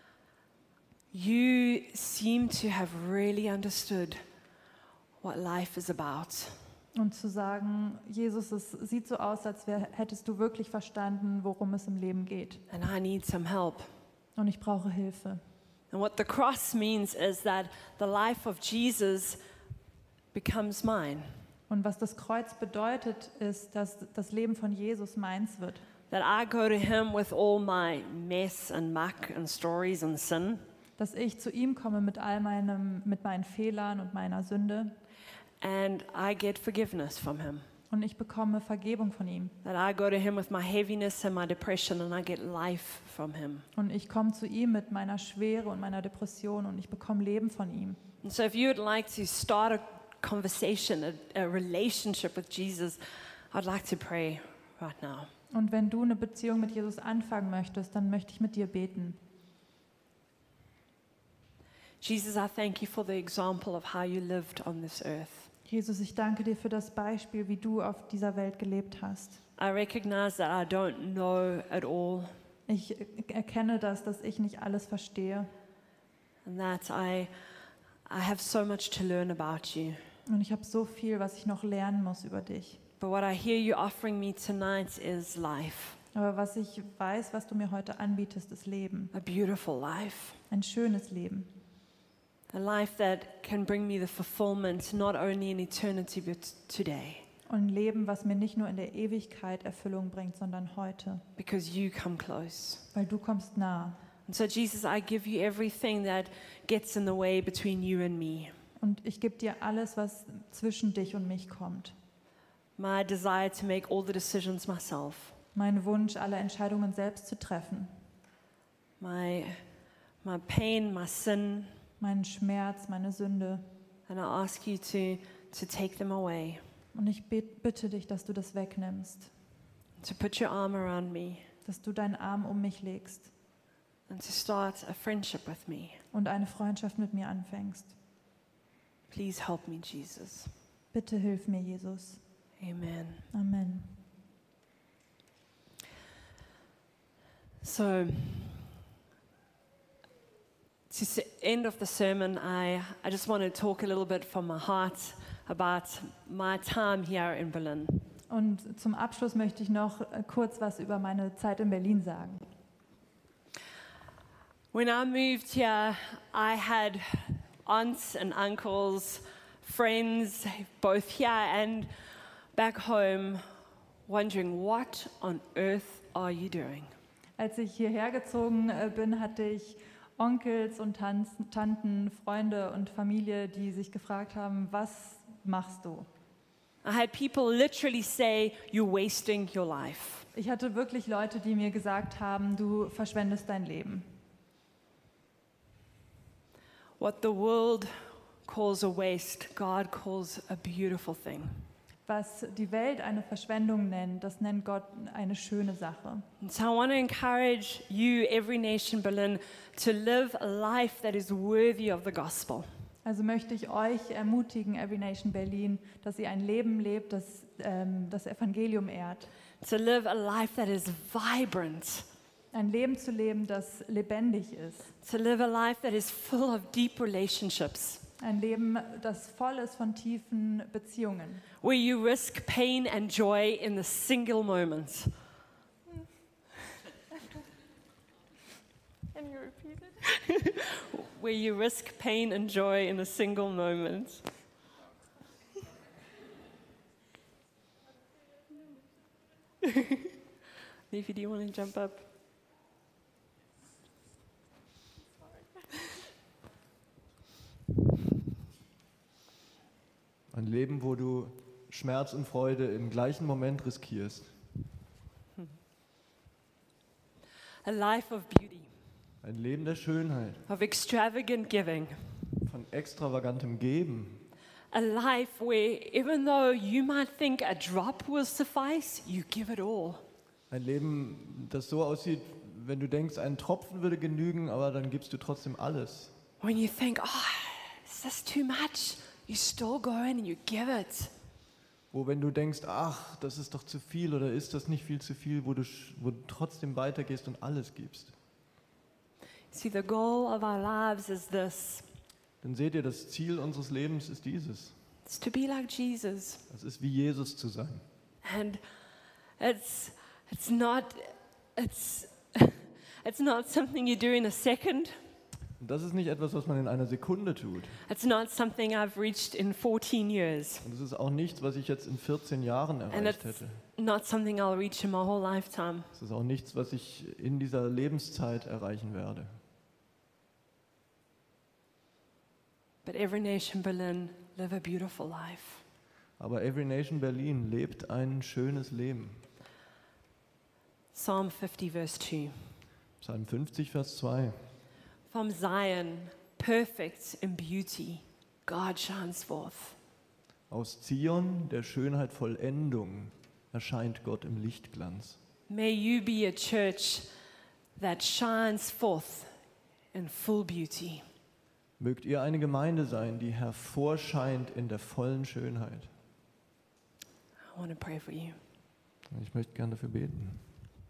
you seem to have really understood what life is about. Und zu sagen, Jesus, es sieht so aus, als wär, hättest du wirklich verstanden, worum es im Leben geht. And I need some help. Und ich brauche Hilfe. And what the cross means is that the life of Jesus becomes mine. Und was das Kreuz bedeutet, ist, dass das Leben von Jesus meins wird. That I go to him with all my mess and muck and stories and sin. Dass ich zu ihm komme mit all meinem, mit meinen Fehlern und meiner Sünde. And I get forgiveness from him. Und ich bekomme Vergebung von ihm. That I go to him with my heaviness and my depression and I get life from him. Und ich komme zu ihm mit meiner Schwere und meiner Depression und ich bekomme Leben von ihm. And so if you would like to start a conversation, a, a relationship with Jesus, I'd like to pray right now. Und wenn du eine Beziehung mit Jesus anfangen möchtest, dann möchte ich mit dir beten. Jesus, I thank you for the example of how you lived on this earth. Jesus, ich danke dir für das Beispiel, wie du auf dieser Welt gelebt hast. I recognize that I don't know it all Ich erkenne das, dass ich nicht alles verstehe. and that I, I have so much to learn about you. Und ich habe so viel, was ich noch lernen muss über dich. But what I hear you offering me tonight is life, Aber was ich weiß, was du mir heute anbietest, ist Leben. a beautiful life, Ein schönes Leben. a life that can bring me the fulfillment not only in eternity but today, Und ein Leben, was mir nicht nur in der Ewigkeit Erfüllung bringt, sondern heute. because you come close. Weil du kommst nah. And so Jesus, I give you everything that gets in the way between you and me. Und ich gebe dir alles, was zwischen dich und mich kommt. My desire to make all the decisions myself, Mein Wunsch, alle Entscheidungen selbst zu treffen. my, my pain, my sin, Meinen Schmerz, meine Sünde. and I ask you to, to take them away, Und ich bet- bitte dich, dass du das wegnimmst. to put your arm around me, Dass du deinen Arm um mich legst and to start a friendship with me. und eine Freundschaft mit mir anfängst. Please help me, Jesus. Bitte hilf mir, Jesus. Amen. Amen. So, to the end of the sermon, I, I just want to talk a little bit from my heart about my time here in Berlin. Und zum Abschluss möchte ich noch äh, kurz was über meine Zeit in Berlin sagen. When I moved here, I had aunts and uncles, friends, both here and back home, wondering, what on earth are you doing? Als ich hierher gezogen äh, bin, hatte ich Onkels und Tanz, Tanten, Freunde und Familie, die sich gefragt haben, was machst du? I had people literally say, you're wasting your life. Ich hatte wirklich Leute, die mir gesagt haben, du verschwendest dein Leben. What the world calls a waste, God calls a beautiful thing. Was die Welt eine Verschwendung nennt, das nennt Gott eine schöne Sache. And so I want to encourage you, Every Nation Berlin, to live a life that is worthy of the gospel. Also möchte ich euch ermutigen, Every Nation Berlin, dass ihr ein Leben lebt, das ähm, das Evangelium ehrt. To live a life that is vibrant. Ein Leben zu leben, das lebendig ist. To live a life that is full of deep relationships. Ein Leben, das voll ist von tiefen Beziehungen. Where you risk pain and joy in the single moment. Can you repeat it? Where you risk pain and joy in a single moment. Leafy, do you want to jump up? Ein Leben, wo du Schmerz und Freude im gleichen Moment riskierst. A life of beauty, Ein Leben der Schönheit, of extravagant giving. von extravagantem Geben. A life where even though you might think a drop will suffice, you give it all. Ein Leben, das so aussieht, wenn du denkst, ein Tropfen würde genügen, aber dann gibst du trotzdem alles. When you think, oh, is this too much? You still go in and you give it. Wo wenn du denkst, ach, das ist doch zu viel oder ist das nicht viel zu viel, wo du, sch- wo du trotzdem weitergehst und alles gibst. See, the goal of our lives is this. Dann seht ihr, das Ziel unseres Lebens ist dieses. It's to be like Jesus. Es ist wie Jesus zu sein. And it's it's not it's it's not something you do in a second. Und das ist nicht etwas, was man in einer Sekunde tut. It's not something I've reached in fourteen years. Und es ist auch nichts, was ich jetzt in vierzehn Jahren And erreicht it's hätte. not something I'll reach in my whole lifetime. Es ist auch nichts, was ich in dieser Lebenszeit erreichen werde. But every nation Berlin live a beautiful life. Aber Every Nation Berlin lebt ein schönes Leben. Psalm fifty verse two. Psalm fünfzig, Vers zwei. From Zion, perfect in beauty, God shines forth. Aus Zion, der Schönheit Vollendung, erscheint Gott im Lichtglanz. May you be a church that shines forth in full beauty. Mögt ihr eine Gemeinde sein, die hervorscheint in der vollen Schönheit. I want to pray for you. Ich möchte gerne dafür beten.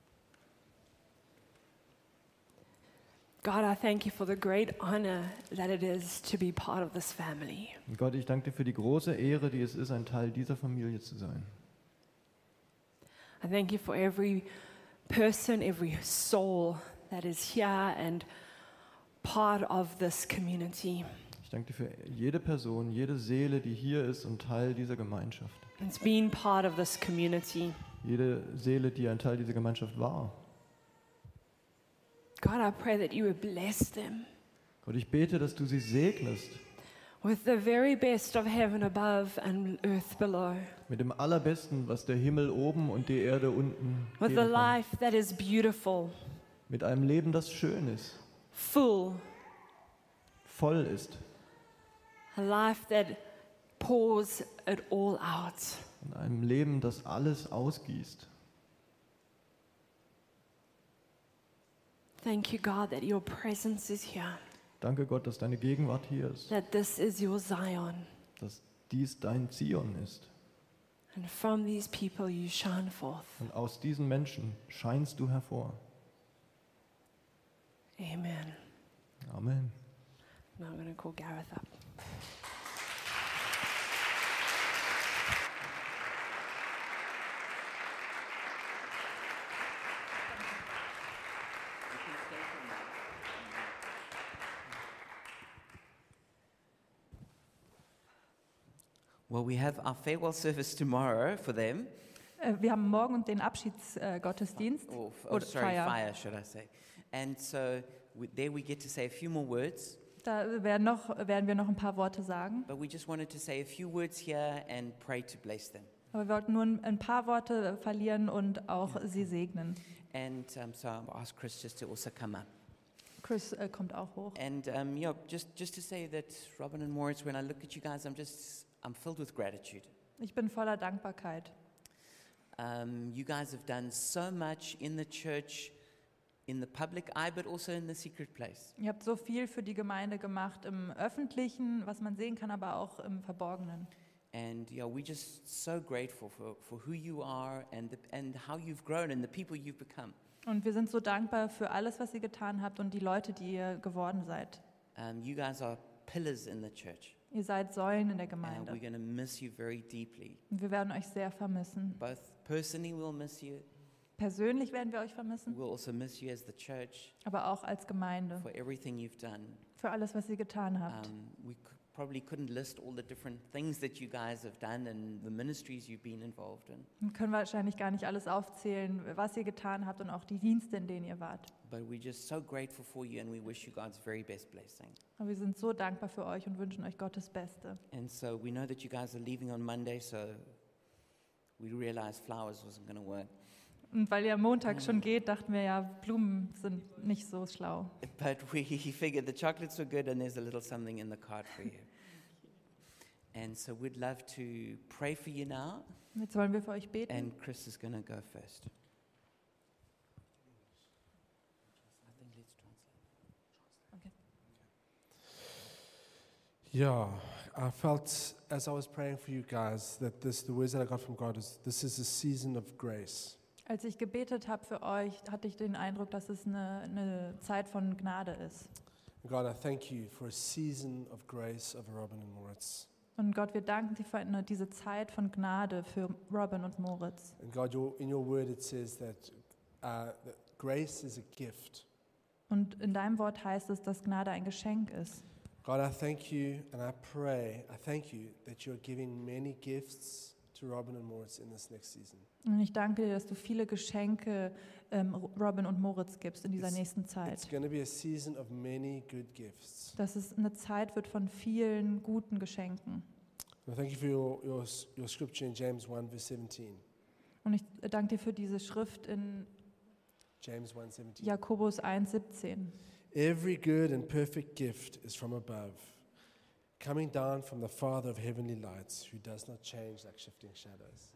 God, I thank you for the great honor that it is to be part of this family. Und Gott, ich danke dir für die große Ehre, die es ist, ein Teil dieser Familie zu sein. I thank you for every person, every soul that is here and part of this community. Ich danke dir für jede Person, jede Seele, die hier ist und Teil dieser Gemeinschaft. It's been part of this community. Jede Seele, die ein Teil dieser Gemeinschaft war. God, I pray that you would bless them Gott, ich bete, dass du sie segnest with the very best of heaven above and earth below, mit dem Allerbesten, was der Himmel oben und die Erde unten with geben a kann. life that is beautiful, Mit einem Leben, das schön ist, full, voll ist. a life that pours it all out. In einem Leben, das alles ausgießt. Thank you, God, that your presence is here, Danke Gott, dass deine Gegenwart hier ist, that this is your Zion, dass dies dein Zion ist. and from these people you shine forth. Und aus diesen Menschen scheinst du hervor. Amen. Amen. Now I'm going to call Gareth up. Well, we have our farewell service tomorrow for them. Äh, Wir haben morgen den Abschiedsgottesdienst. Or, oh, Oder sorry, Feier. fire, should I say. And so we, there we get to say a few more words, Da werden, noch, werden wir noch ein paar Worte sagen. but we just wanted to say a few words here and pray to bless them. Aber wir wollten nur ein- ein paar Worte verlieren und auch sie segnen. And um, so I'll ask Chris just to also come up. Chris äh, kommt auch hoch. And um, yeah, just, just to say that Robin and Moritz, when I look at you guys, I'm just, I'm filled with gratitude. Ich bin voller Dankbarkeit. Um, you guys have done so much in the church, in the public eye, but also in the secret place. Ihr habt so viel für die Gemeinde gemacht im Öffentlichen, was man sehen kann, aber auch im Verborgenen. And yeah, we're just so grateful for, for who you are and, the, and how you've grown and the people you've become. Und wir sind so dankbar für alles, was ihr getan habt und die Leute, die ihr geworden seid. Um, you guys are pillars in the church, Ihr seid Säulen in der and Gemeinde. we're going to miss you very deeply. Und wir werden euch sehr vermissen. Both personally, we'll miss you. Persönlich werden wir euch vermissen, We'll also miss you as the church aber auch als Gemeinde. for everything you've done. Für alles, was ihr getan habt. Um, we c- probably couldn't list all the different things that you guys have done and the ministries you've been involved in. Wir können wahrscheinlich gar nicht alles aufzählen, was ihr getan habt und auch die Dienste, in denen ihr wart. But we're just so grateful for you and we wish you God's very best blessing. Aber wir sind so dankbar für euch und wünschen euch Gottes Beste. And so we know that you guys are leaving on Monday, so we realized flowers wasn't going to work. Und weil ihr am Montag schon geht, dachten wir ja, Blumen sind nicht so schlau. But we figured the chocolates were good and there's a little something in the card for you. And so we'd love to pray for you now, Jetzt wollen wir für euch beten. and Chris is going to go first. I think let's translate. Yeah, I felt as I was praying for you guys that this, the words that I got from God is this is a season of grace. Als ich gebetet habe für euch, hatte ich den Eindruck, dass es eine, eine Zeit von Gnade ist. God, I thank you for a season of grace over Robin and Moritz. Und Gott, wir danken dir für eine, diese Zeit von Gnade für Robin und Moritz. And God, your, in your word it says that, uh, that grace is a gift. Und in deinem Wort heißt es, dass Gnade ein Geschenk ist. God, I thank you and I pray, I thank you that you're giving many gifts to Robin and Moritz in this next season. Und ich danke dir, dass du viele Geschenke ähm, Robin und Moritz gibst in dieser It's- nächsten It's Zeit. going to be a season of many good gifts. Dass es eine Zeit wird von vielen guten Geschenken. And thank you for your, your, your scripture in James one verse seventeen. Und ich danke dir für diese Schrift in James one seventeen. Jakobus eins siebzehn. Every good and perfect gift is from above, coming down from the Father of heavenly lights, who does not change like shifting shadows.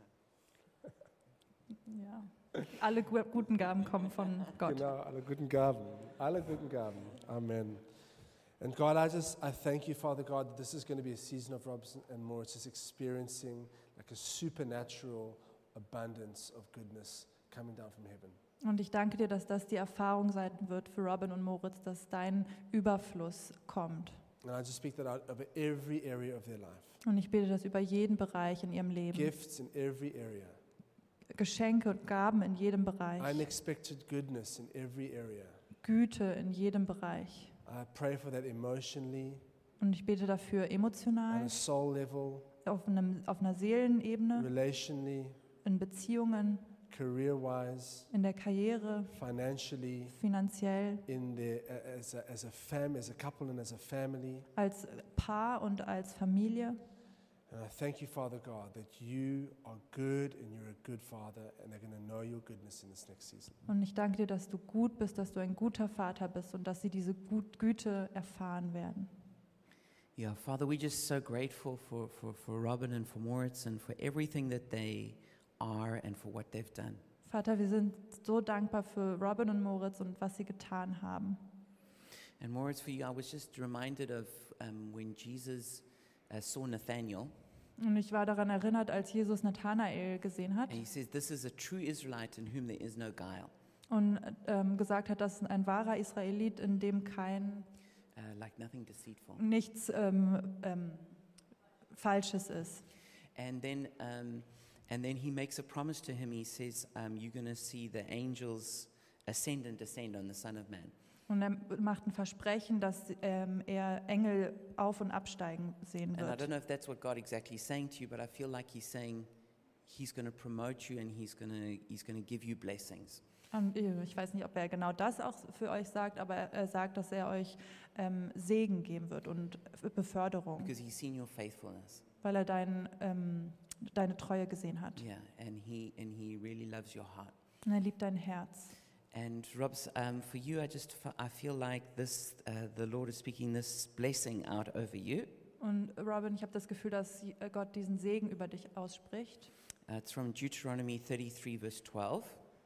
Ja. Alle gu- guten Gaben kommen von Gott. Genau, alle guten Gaben, alle guten Gaben. Amen. And God, I just, I thank you, Father God, that this is going to be a season of Robson and Moritz is experiencing like a supernatural abundance of goodness coming down from heaven. Und ich danke dir, dass das die Erfahrung sein wird für Robin und Moritz, dass dein Überfluss kommt. And I just speak that out over every area of their life. Und ich bete das über jeden Bereich in ihrem Leben. Gifts in every area. Geschenke und Gaben in jedem Bereich. Unexpected goodness in every area. Güte in jedem Bereich. I pray for that emotionally, Und ich bete dafür on emotional, a soul level, auf, einem, auf einer Seelenebene, relationally, in Beziehungen, career-wise, in der Karriere, financially, finanziell, in the, as, a, as a fam, as a couple and as a family. als Paar und als Familie. And I thank you, Father God, that you are good and you're a good Father, and they're going to know your goodness in this next season. Und ich danke dir, dass du gut bist, dass du ein guter Vater bist und dass sie diese Gut Güte erfahren werden. Yeah, Father, we're just so grateful for, for, for Robin and for Moritz and for everything that they are and for what they've done. Vater, wir sind so dankbar für Robin und Moritz und was sie getan haben. And Moritz, for you, I was just reminded of um, when Jesus uh, saw Nathanael, Und ich war daran erinnert, als Jesus Nathanael gesehen hat and he says, "This is a true Israelite in whom there is no guile." und ähm, gesagt hat, dass ein wahrer Israelit, in dem kein Uh, like nothing deceitful. nichts ähm, ähm, Falsches ist. And then, um, and then he makes a promise to him. He says, um, "You're going to see the angels ascend and descend on the Son of Man." Und er macht ein Versprechen, dass ähm, er Engel auf- und absteigen sehen And I wird. don't know if that's what God exactly is saying to you, but I feel like He's saying He's going to promote you and He's going to He's going to give you blessings. Und ich weiß nicht, ob er genau das auch für euch sagt, aber er sagt, dass er euch ähm, Segen geben wird und Beförderung, Because He's seen your faithfulness. weil er dein, ähm, deine Treue gesehen hat. Yeah, and He and He really loves your heart. Und er liebt dein Herz. And Robs, um, for you, I just f- I feel like this uh, the Lord is speaking this blessing out over you. Und Robin, ich habe das Gefühl, dass Gott diesen Segen über dich ausspricht. Uh, it's from Deuteronomy thirty-three, verse twelve.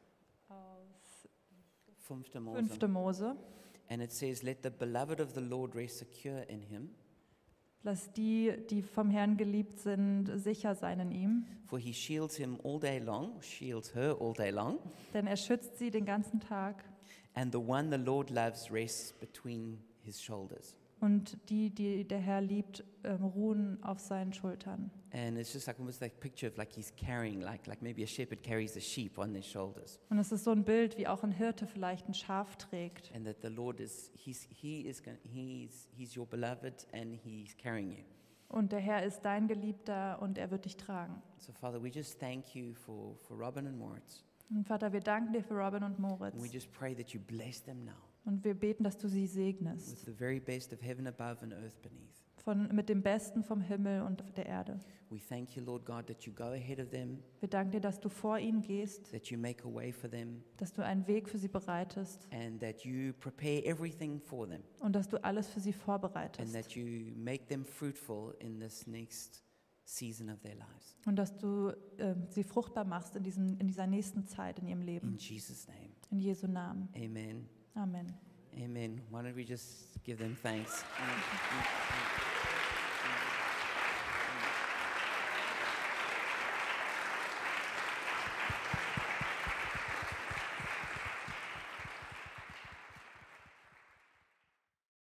Aus Fünfte Mose. fünfte Mose. And it says, "Let the beloved of the Lord rest secure in Him, Lass die, die vom Herrn geliebt sind, sicher sein in ihm. for He shields him all day long, shields her all day long. Denn er schützt sie den ganzen Tag. And the one the Lord loves rests between His shoulders." Und die, die der Herr liebt, ähm, ruhen auf seinen Schultern. And it's just like almost like picture of like he's carrying, like like maybe a shepherd carries a sheep on their shoulders, Und es ist so ein Bild, wie auch ein Hirte vielleicht ein Schaf trägt. and that the Lord is he's he is going he's he's your beloved and He's carrying you. Und der Herr ist dein Geliebter und er wird dich tragen. So Father, we just thank you for for Robin and Moritz, Und Vater, wir danken dir für Robin und Moritz. and we just pray that you bless them now Und wir beten, dass du sie with segnest. the very best of heaven above and earth beneath. Von, mit dem Besten vom Himmel und der Erde. We thank you, Lord God, that you go ahead of them, Wir danken dir, dass du vor ihnen gehst, that you make a way for them, dass du einen Weg für sie bereitest and that you prepare everything for them, und dass du alles für sie and vorbereitest. that you make them fruitful in this next season of their lives. Und dass du ähm, sie fruchtbar machst in, diesem, in dieser nächsten Zeit in ihrem In Leben. Jesus' name, In Jesu Namen. amen. Amen. Amen. Why don't we just give them thanks?